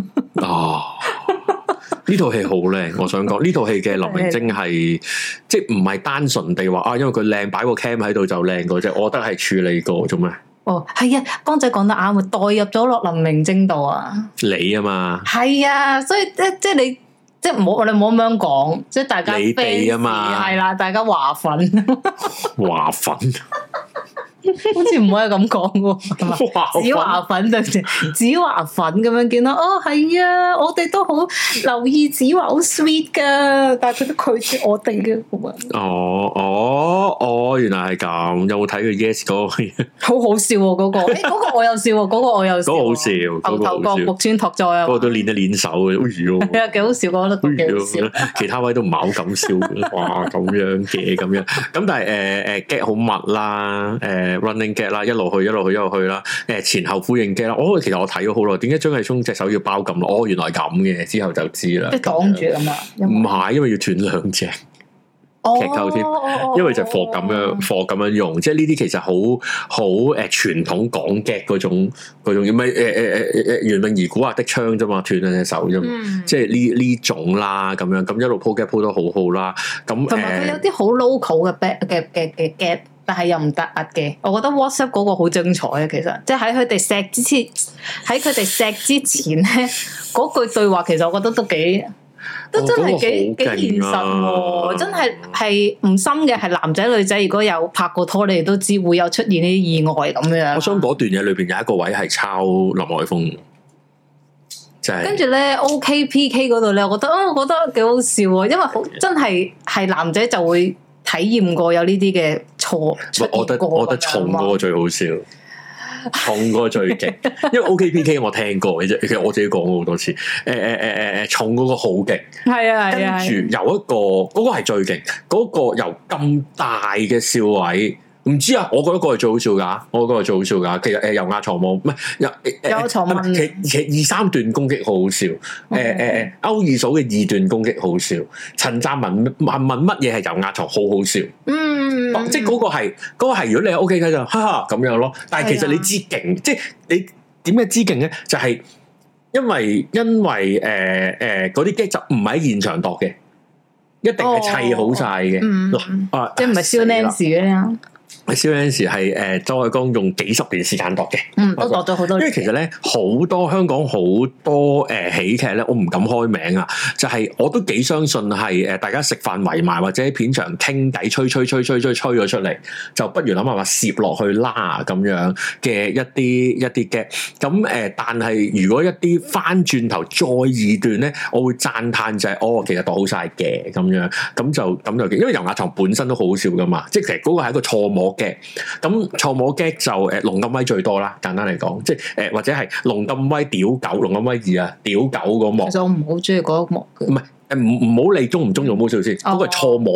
呢套戲好靚，我想講呢套戲嘅林明禎係即係唔係單純地話因為佢靚擺個 cam 喺度就靚嗰隻，我覺得係處理過做咩？ 係啊，江仔講得啱，代入咗落林明禎度啊！ 你啊嘛， 係啊，所以即係你即係唔好我哋唔好咁樣講，即係大家你哋啊嘛， 係啦，大家華粉華粉。 好似唔可以咁講喎，子華粉對住子華粉咁樣見到係啊，我哋都好留意子華好 sweet 噶，但係佢都拒絕我哋嘅咁原來係咁，有冇睇佢 Yes 嗰個？ 好好笑喎，嗰個嗰個我有笑，嗰個我有笑， 嗰個好笑， 牛頭角木村拓哉啊， 嗰個都練一練手嘅，係啊，幾好笑，我覺得幾好笑。 其他位都唔係好敢笑，哇咁樣嘅咁樣，咁但係get 好密啦，running get 啦，一路去啦，前後呼應 get 啦。其實我睇咗好耐，點解張繼聰隻手要包咁耐？原來咁嘅，之後就知啦。 即係擋住咁啊？ 唔係，因為要斷兩隻劇透添，因為就貨咁樣用，即係呢啲其實好傳統港 get 嗰種，唔係袁詠儀古惑的槍啫嘛，斷兩隻手啫嘛，即係呢種啦，咁樣咁一路鋪 get 鋪得好好啦。咁同埋佢有啲好 local 嘅 get。但係又唔突兀嘅，我覺得 WhatsApp 嗰個好精彩啊！其實，即係喺佢哋錫之前咧，嗰句對話其實我覺得都真係幾現實喎！真係唔深嘅，係男仔女仔如果有拍過拖，你哋都知會有出現呢啲意外咁樣。 我想嗰段嘢裏邊有一個位係抄林海峰，就係跟住咧 OKPK 嗰度咧，我覺得幾好笑喎，因為真係男仔就會體驗過有呢啲嘅錯， 我覺得重嗰個最好笑，重嗰個最勁，因為 OKPK 我聽過嘅啫，其實我自己講過好多次，重嗰個好勁， 係啊， 跟住有一個嗰個係最勁，嗰個由咁大嘅笑位。唔知啊，我覺得個係最好笑噶，其實油壓床冇，唔係有床問，其實2-3段攻擊好好笑，歐二嫂嘅2段攻擊好笑，陳湛文問乜嘢係油壓床好好笑，即係嗰個係如果你係 OK 嘅就哈哈咁樣咯，但係其實你知勁，即係你點解知勁咧？就係因為嗰啲機就唔係喺現場度嘅，一定係砌好晒嘅， 即係唔係燒 Nancy 嘅。 蕭陣時係周海光用幾十年時間度嘅， 都度咗好多年。 因為其實咧好多香港好多喜劇咧，我唔敢開名啊，就係我都幾相信係大家食飯圍埋或者喺片場傾偈吹咗出嚟，就不如諗下話攝落去啦咁樣嘅一啲嘅。咁但係如果一啲翻轉頭再二段咧，我會讚嘆就係其實度好晒嘅咁樣，咁就因為油壓床本身都好好笑噶嘛，即係其實嗰個係一個錯摸嘅，咁錯摸嘅就龍咁威最多啦，簡單嚟講，即係或者係龍咁威屌狗，龍咁威2啊屌狗嗰幕， 其實我唔好中意嗰一幕嘅， 唔係唔好理中唔中意冇笑先，嗰個係錯摸，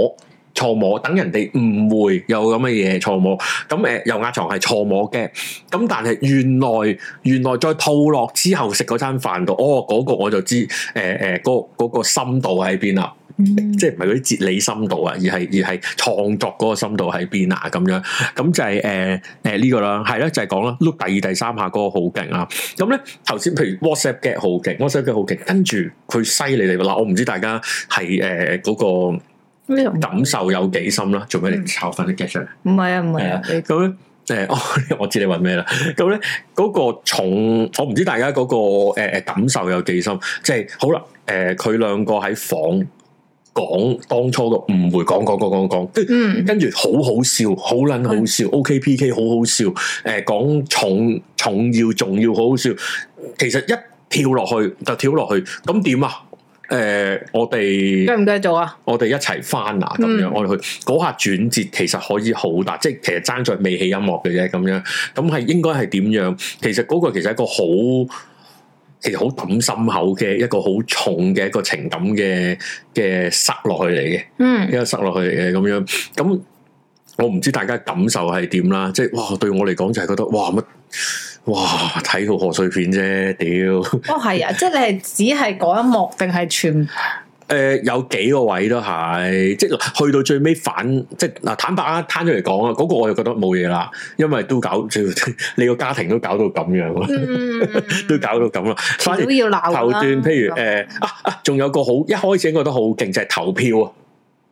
錯摸，等人哋誤會有咁嘅嘢錯摸。咁油壓床係錯摸嘅，咁但係原來再套落之後食嗰餐飯度，嗰個我就知嗰個深度喺邊啦。即係唔係嗰啲哲理深度啊，而係創作嗰個深度喺邊啊？咁樣咁就係呢個啦，係啦，就係講啦，碌第二第三下嗰個好勁啦。咁咧頭先譬如 WhatsApp get 好勁，WhatsApp get 好勁，跟住佢犀利嚟嗱，我唔知大家係嗰個感受有幾深啦。做咩你抄翻啲 get 出嚟？唔係啊。 咁咧我知你話咩啦。咁咧嗰個重，我唔知大家嗰個感受有幾深。即係好啦，佢兩個喺房。講當初個誤會，講，跟住好好笑，好撚好笑，OKPK 好好笑，講重要重要好好笑，其實一跳落去就跳落去，咁點啊？我哋繼唔繼續啊？ 我哋一齊翻啊！咁樣我哋去嗰下轉折，其實可以好大，即係其實爭在未起音樂嘅啫，咁樣咁係應該係點樣？其實嗰個其實係一個其實好抌心口嘅一個好重嘅一個情感嘅塞落去嚟嘅，一個塞落去嚟嘅咁樣。咁我唔知大家感受係點啦，即係哇對我嚟講就係覺得哇睇套賀歲片啫，屌！ 係啊，即係你係只係嗰一幕定係全？ 有幾個位都係，即係去到最尾反，即係嗱坦白啊，攤咗嚟講啊，嗰個我就覺得冇嘢啦，因為都搞，你個家庭都搞到咁樣，都搞到咁啦。反而要鬧頭段，譬如仲有個好一開始覺得好勁就係投票啊！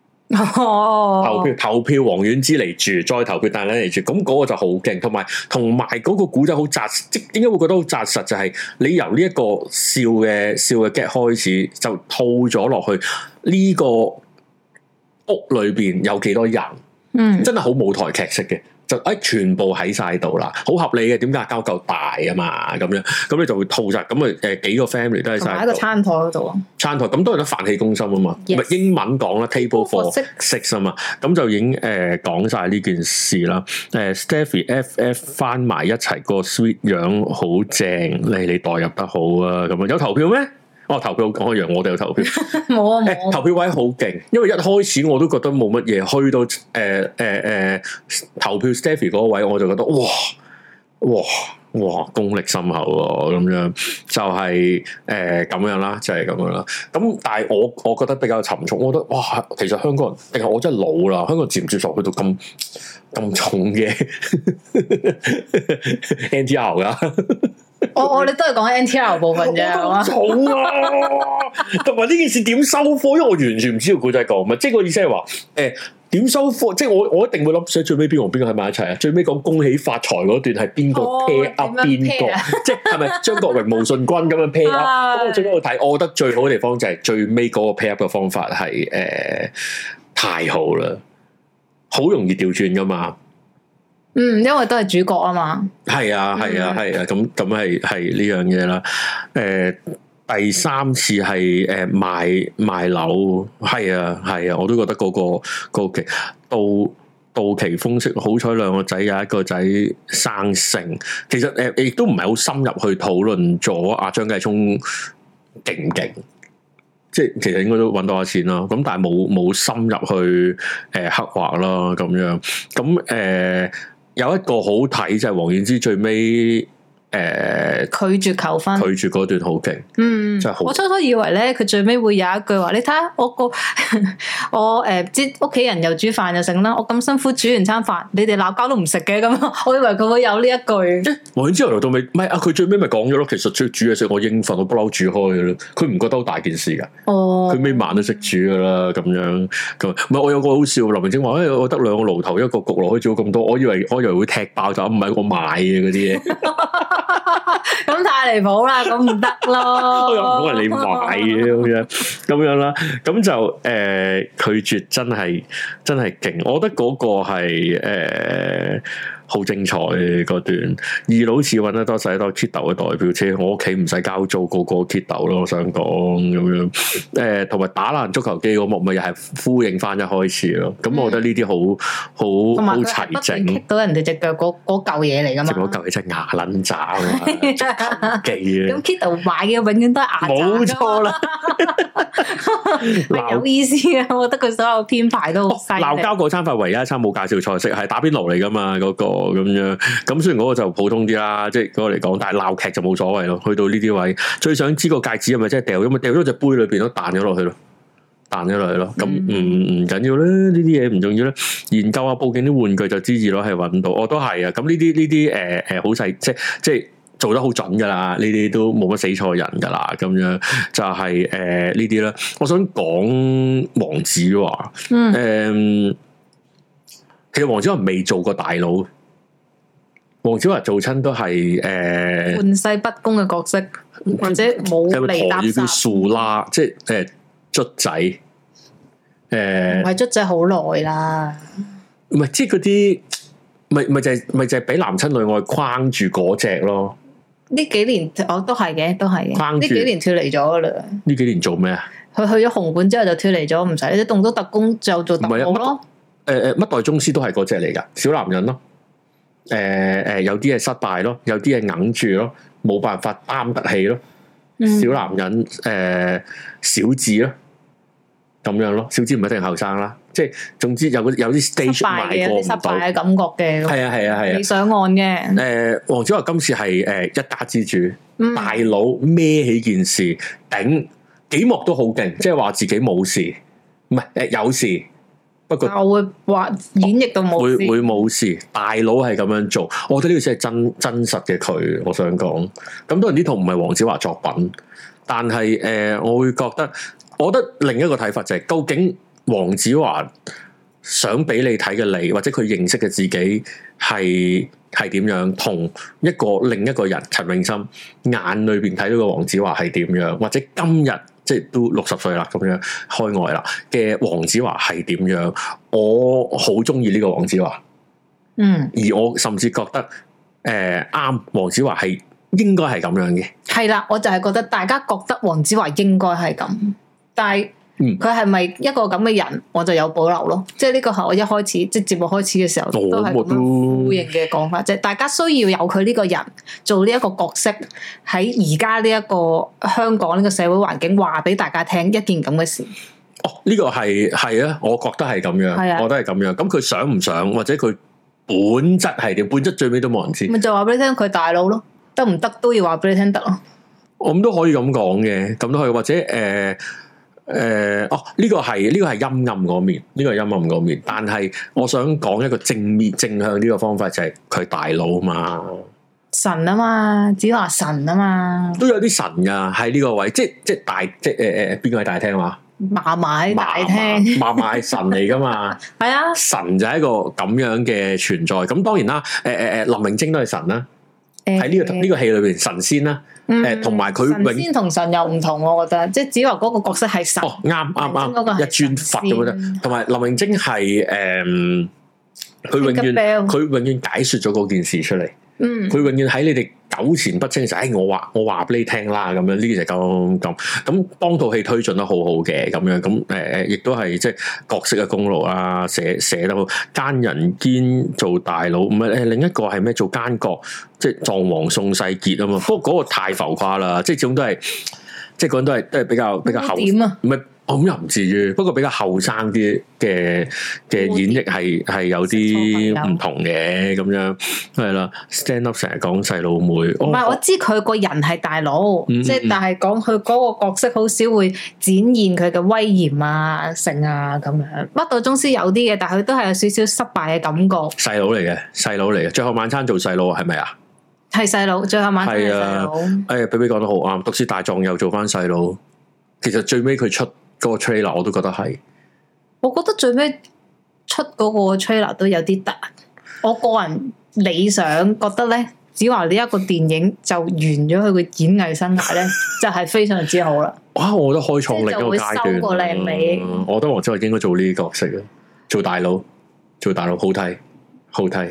投票王菀之嚟住，再投票大躉嚟住，咁嗰個就好勁，同埋嗰個古仔好紮實，即係點解會覺得好紮實？就係你由呢一個笑嘅 get 開始，就套咗落去呢個屋裏邊有幾多人，真係好舞台劇式嘅。就全部喺晒度啦，好合理嘅。點解交夠大啊嘛？咁樣咁你就會套晒咁啊幾個 family 都喺晒。喺個餐台嗰度啊。餐台咁都係得飯氣攻心啊嘛。咪 Yes. 英文講啦 ，table for six 啊嘛。咁就已經講晒呢件事啦。Stephy FF 翻埋一齊個 sweet 樣好正，你代入得好啊。咁啊有投票咩？投票講一樣，我哋有投票。冇啊，投票位好勁，因為一開始我都覺得冇乜嘢，去到投票 Stephy 嗰位，我就覺得哇功力深厚喎，咁樣就係咁樣啦，就係咁樣啦。咁但係我覺得比較沉重，我覺得哇，其實香港人定係我真係老啦，香港人接唔接受去到咁重嘅 NTR 噶？ 我哋都係講 NTR 部分啫， 好重啊！同埋呢件事點收貨？因為我完全唔知道古仔講乜，即係個意思係話點收貨？即係我一定會諗，最尾邊個喺埋一齊啊？最尾講恭喜發財嗰段係邊個 pair up 邊個？即係咪張國榮、毛舜筠咁樣 pair up？咁我最尾去睇，我覺得最好嘅地方就係最尾嗰個 pair up 嘅方法係太好啦，好容易調轉噶嘛。 因為都係主角啊嘛。係啊，咁係呢樣嘢啦。第三次係賣樓，係啊，我都覺得嗰個到期風息，好彩兩個仔有一個仔生性。其實亦都唔係好深入去討論咗阿張繼聰勁唔勁，即係其實應該都搵到下錢啦。咁但係冇深入去刻畫啦，咁樣咁有一個好睇就係王菀之最尾拒絕求婚， 拒絕嗰段好勁，真係好。 我初初以為咧，佢最尾會有一句話，你睇下我我即屋企人又煮飯又剩啦，我咁辛苦煮完餐飯，你哋鬧交都唔食嘅咁，我以為佢會有呢一句。 王菀之由頭到尾，唔係啊，佢最尾咪講咗咯，其實煮嘢食我應份，我不嬲煮開嘅啦，佢唔覺得好大件事噶。佢每晚都識煮噶啦，咁樣咁。唔係我有個好笑，林明晶話，我得兩個爐頭，一個焗爐可以煮咁多，我以為會踢爆就唔係我買嘅嗰啲嘢。 咁太離譜啦，咁唔得咯。 又唔好係你買嘅咁樣啦，咁就拒絕真係勁。我覺得嗰個係好精彩嗰段。二佬似揾得多使多 Kiddo 嘅代表車，我屋企唔使交租，個 Kiddo 咯。我想講咁樣，同埋打爛足球機嗰幕咪又係呼應翻一開始咯。咁我覺得呢啲好齊整， 擊到人哋隻腳嗰嚿嘢嚟噶嘛。 嗰嚿嘢真係牙撚渣啊嘛，機啊！ 咁 Kiddo 買嘅永遠都係牙渣。冇錯啦，係有意思啊！我覺得佢所有編排都好犀利。鬧交嗰餐飯唯一一餐冇介紹菜式，係打邊爐嚟噶嘛，嗰個咁樣。咁雖然嗰個就普通啲啦，即係嗰個嚟講，但係鬧劇就冇所謂咯。去到呢啲位，最想知個戒指係咪真係掉咗？咪掉咗隻杯裏邊都彈咗落去咯，彈咗落去咯。咁唔緊要啦，呢啲嘢唔重要啦。研究下報警啲玩具就知二佬係揾到，我都係啊。咁呢啲好細，即係做得好準噶啦。呢啲都冇乜死錯人噶啦。咁樣就係呢啲啦。我想講黃子華，其實黃子華未做過大佬。黃子華做親都係玩世不恭嘅角色，或者冇嚟搭訕。叫樹啦，即係卒仔，唔係卒仔好耐啦。唔係，即係嗰啲，咪就係俾男親女愛框住嗰隻咯。呢幾年我都係嘅，都係嘅。呢幾年脫離咗噶啦。呢幾年做咩啊？佢去咗紅館之後就脫離咗，唔使啲動作特工就做特務咯。乜代宗師都係嗰隻嚟噶，小男人咯。有啲係失敗咯，有啲係硬住咯，冇辦法擔得起咯。小男人，小智咯，咁樣咯。小智唔一定後生啦，即係總之有啲 stage 埋過唔到，失敗嘅感覺嘅。係啊，你上岸嘅。黃子華今次係一家之主，大佬孭起件事，頂幾幕都好勁，即係話自己冇事，唔係有事。不過我會話演繹到冇事，會冇事。大佬係咁樣做，我覺得呢個先係真實嘅佢。我想講，咁當然呢套唔係黃子華作品，但係我會覺得，我覺得另一個睇法就係，究竟黃子華想俾你睇嘅你，或者佢認識嘅自己係點樣，同另一個人陳詠燊眼裏邊睇到嘅黃子華係點樣，或者今日。即係都60歲啦，咁樣開外啦嘅黃子華係點樣？我好中意呢個黃子華，而我甚至覺得啱黃子華係應該係咁樣嘅。係啦，我就係覺得大家覺得黃子華應該係咁，但係佢係咪一個咁嘅人，我就有保留咯。即係呢個係我一開始即係節目開始嘅時候都係咁樣呼應嘅講法，即係大家需要有佢呢個人做呢一個角色喺而家呢一個香港呢個社會環境，話俾大家聽一件咁嘅事。哦，呢個係啊，我覺得係咁樣，係啊，我覺得係咁樣。咁佢想唔想，或者佢本質係點？本質最尾都冇人知。咪就話俾你聽，佢大佬咯，得唔得都要話俾你聽得咯。我咁都可以咁講嘅，咁都可以，或者呢個係陰暗嗰面，呢個係陰暗嗰面。但係我想講一個正向呢個方法，就係佢大佬嘛，神啊嘛，子華神啊嘛，都有啲神噶喺呢個位，即係大，即係邊個喺大廳話？嫲嫲喺大廳，嫲嫲係神嚟噶嘛？係啊，神就係一個咁樣嘅存在。咁當然啦，林明禎都係神啦，喺呢個戲裏邊神仙啦。同埋佢神仙同神又唔同，我覺得，即係子華嗰個角色係神，啱，一尊佛咁樣。同埋林明禎係佢永遠解說咗嗰件事出嚟。佢永遠喺你哋糾纏不清嘅時候，我話俾你聽啦，咁樣呢件就咁幫套戲推進得好好嘅，咁樣咁亦都係即係角色嘅功勞啦，寫得好。奸人堅做大佬，唔係另一個係咩？做奸角，即係狀王宋世傑啊嘛。不過嗰個太浮誇啦，即係始終都係，即係嗰人都係比較後點啊，唔係。咁又唔至於，不過比較後生啲嘅演繹係有啲唔同嘅咁樣，係啦。Stand up 成日講細佬妹，唔係我知佢個人係大佬，即係但係講佢嗰個角色好少會展現佢嘅威嚴啊、性啊咁樣。乜道宗師有啲嘅，但係佢都係有少少失敗嘅感覺。細佬嚟嘅，最後晚餐做細佬係咪啊？係細佬，最後晚餐係細佬。比比講得好啱，毒舌大狀又做翻細佬。其實最尾佢出嗰個 trailer 我都覺得係，我覺得最尾出嗰個 trailer 都有啲突。我個人理想覺得咧，子華呢一個電影就完咗佢個演藝生涯咧，就係非常之好啦。哇！我覺得開創另一個階段，收個靚尾。我覺得黃子華應該做呢啲角色啊，做大佬好睇。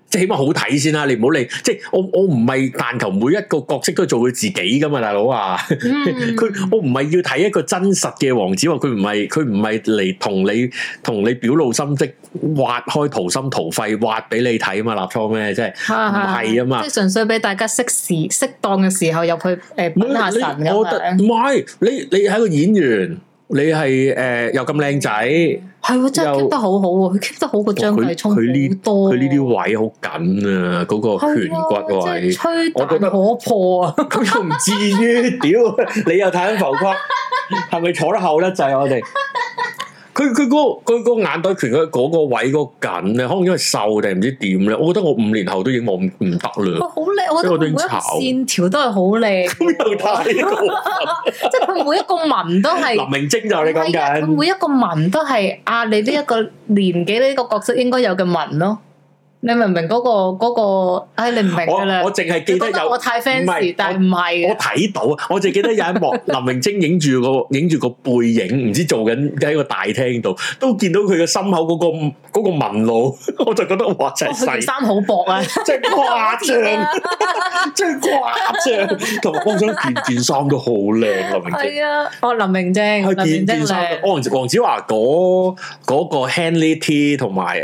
即係起碼好睇先啦，你唔好理。即係我唔係但求每一個角色都做佢自己噶嘛，大佬啊！我唔係要睇一個真實嘅黃子華，佢唔係嚟同你表露心跡，挖開掏心掏肺挖俾你睇啊嘛，立錯咩？即係唔係啊嘛？ 即係純粹俾大家適當嘅時候入去品下神咁樣。 唔係你係個演員。你係又咁靚仔， 係真係 keep 得好好喎，佢 keep 得好過張繼聰好多。 佢呢啲位好緊啊，嗰個顴骨位，我覺得可破啊！ 佢又唔至於，屌你又太浮誇，係咪坐得厚得滯我哋？佢嗰個眼袋拳嗰個位嗰個緊咧，可能因為瘦定唔知點咧。我覺得我5年後都已經冇唔得啦。好靚，我覺得每一個線條都係好靚。咁又太過分， 即係佢每一個紋都係林明禎就你講緊。 佢每一個紋都係你呢一個年紀呢個角色應該有嘅紋咯。你明唔明嗰個？你唔明噶啦。 我淨係記得有。 我太 fancy，但係唔係。 我睇到啊，我淨記得有一幕林明禎影住個背影，唔知做緊喺個大廳度，都見到佢嘅心口嗰個紋路，我就覺得哇真係細。 衫好薄啊， 真係誇張，真係誇張。同埋我想件衫都好靚，林明禎。係啊，林明禎，林明禎靚。 黃子華嗰個 Henley T 同埋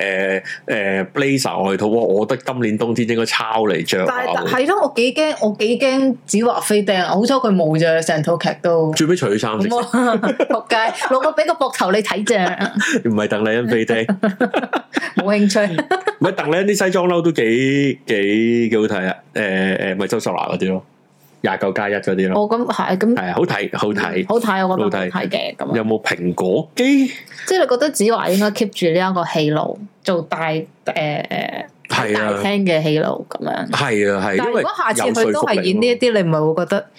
Blazer。外套，我覺得今年冬天應該抄嚟着。但係咯，我幾驚子華飛釘，好彩佢冇啫，成套劇都。 最尾除咗衫先。 仆街，攞個俾個膊頭你睇啫。 唔係鄧麗欣飛釘， 冇興趣。 唔係鄧麗欣啲西裝褸都幾好睇啊！咪周秀娜嗰啲咯，29+1嗰啲咯。 哦，咁係咁。係好睇，好睇， 好睇，我覺得好睇嘅咁。 有冇蘋果肌？ 即係你覺得子華應該 keep 住呢一個戲路，做大大廳嘅戲路咁樣。係啊係。 但係如果下次佢都係演呢一啲，你唔係會覺得？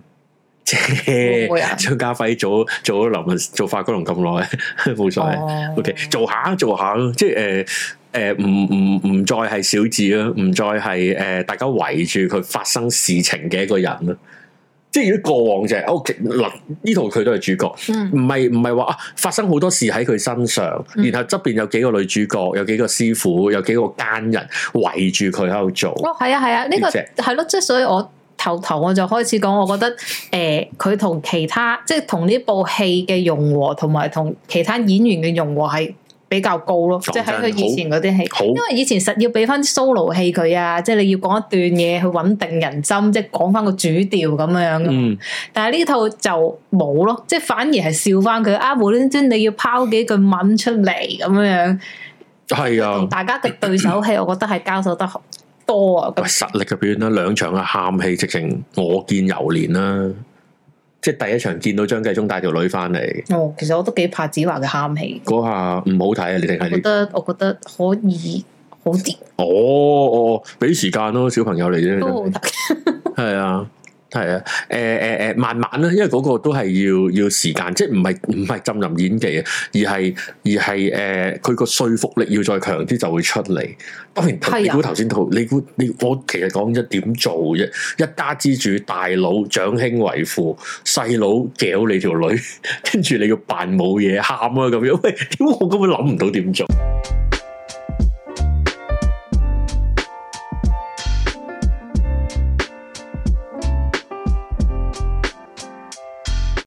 張家輝做咗劉文做法國龍咁耐，冇所謂。OK，做下咯，即係唔再係小智啦，唔再係大家圍住佢發生事情嘅一個人啦。即係如果過往就係嗱呢套佢都係主角，唔係話發生好多事喺佢身上，然後側邊有幾個女主角，有幾個師傅，有幾個奸人圍住佢喺度做。 係啊，呢個係咯，即係所以我頭我就開始講，我覺得佢同其他即係同呢部戲嘅融合，同埋同其他演員嘅融合係比較高咯，即係喺佢以前嗰啲戲，因為以前實要俾翻 solo 戲佢啊，即係你要講一段嘢去穩定人心，即係講翻個主調咁樣。但係呢套就冇咯，即係反而係笑翻佢啊，無端端你要拋幾句文出嚟咁樣。係啊，同大家嘅對手戲，我覺得係交手得多啊。 實力嘅表現啦，2場嘅喊戲直情我見猶憐啦。即係第一場見到張繼聰帶條女翻嚟。 哦，其實我都幾怕子華嘅喊戲。 嗰下唔好睇啊！你定係你？ 我覺得可以好啲。 哦，俾時間咯，小朋友嚟啫。 都好睇。係啊。係啊，慢慢啦，因為嗰個都係要時間，即係唔係浸淫演技啊，而係佢個說服力要再強啲就會出嚟。當然，你估頭先套，你我其實講咗點做啫？一家之主，大佬長兄為父，細佬屌你條女，跟住你要扮冇嘢喊啊咁樣，喂，點我根本諗唔到點做。